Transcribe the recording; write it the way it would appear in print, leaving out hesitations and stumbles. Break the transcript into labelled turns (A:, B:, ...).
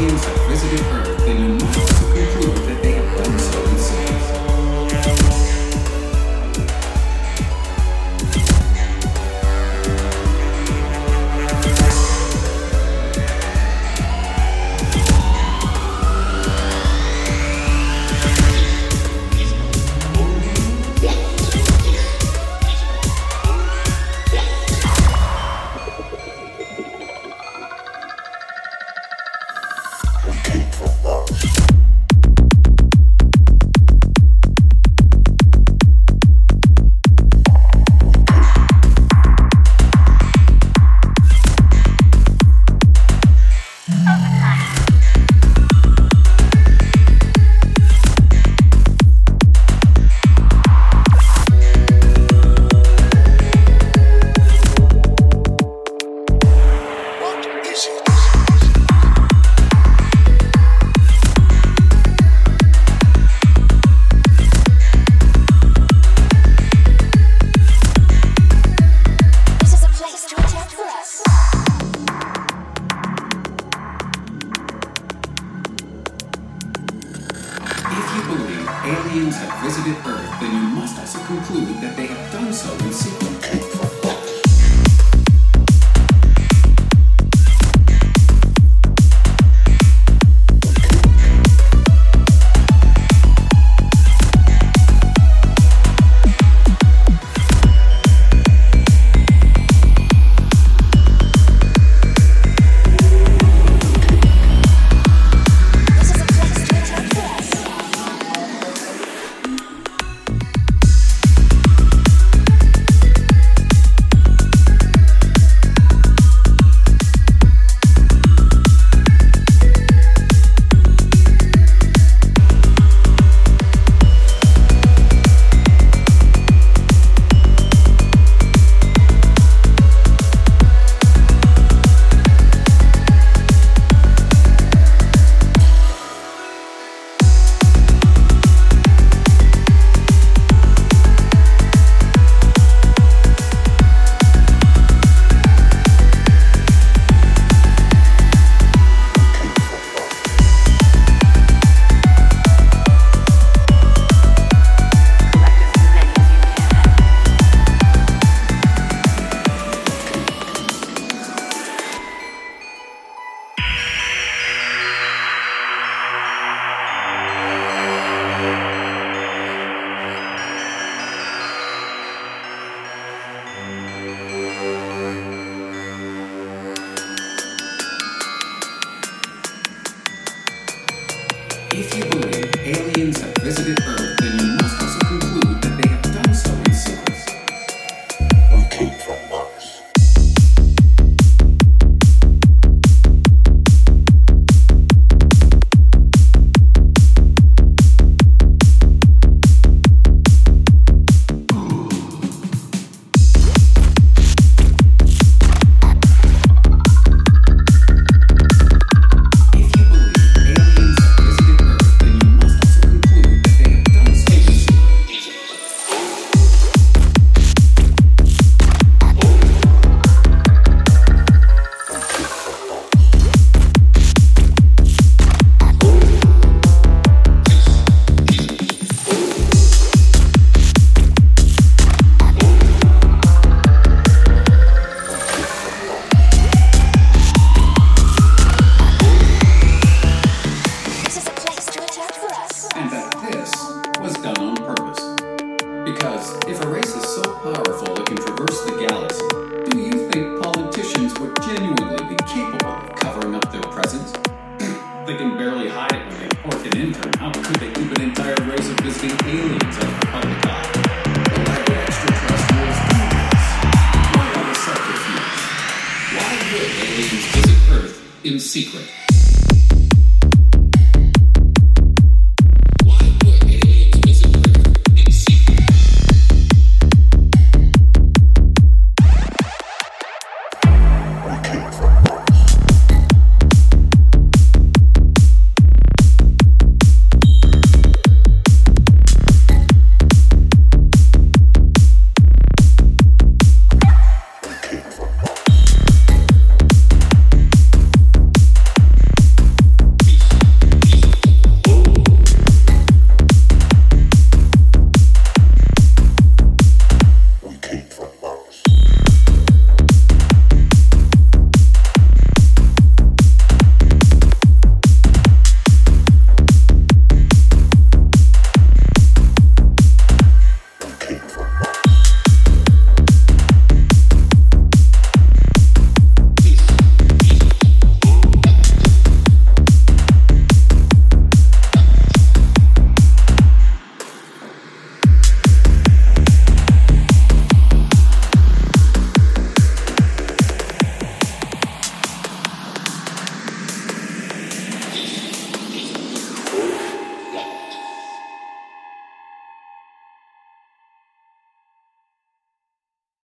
A: aliens have visited Earth, then you must also conclude that they have done so in cities. Aliens have visited Earth, then you must also conclude that they have done so in secret. If you believe aliens have visited Earth, then you must also conclude that they have done so in secret.
B: We came from Mars.
A: And that this was done on purpose. Because if a race is so powerful it can traverse the galaxy, do you think politicians would genuinely be capable of covering up their presence? They can barely hide it when they pork an intern. How could they keep an entire race of visiting aliens out of the public eye? The lack of extraterrestrials do this. Why are the subterfuge? Why would aliens visit Earth in secret?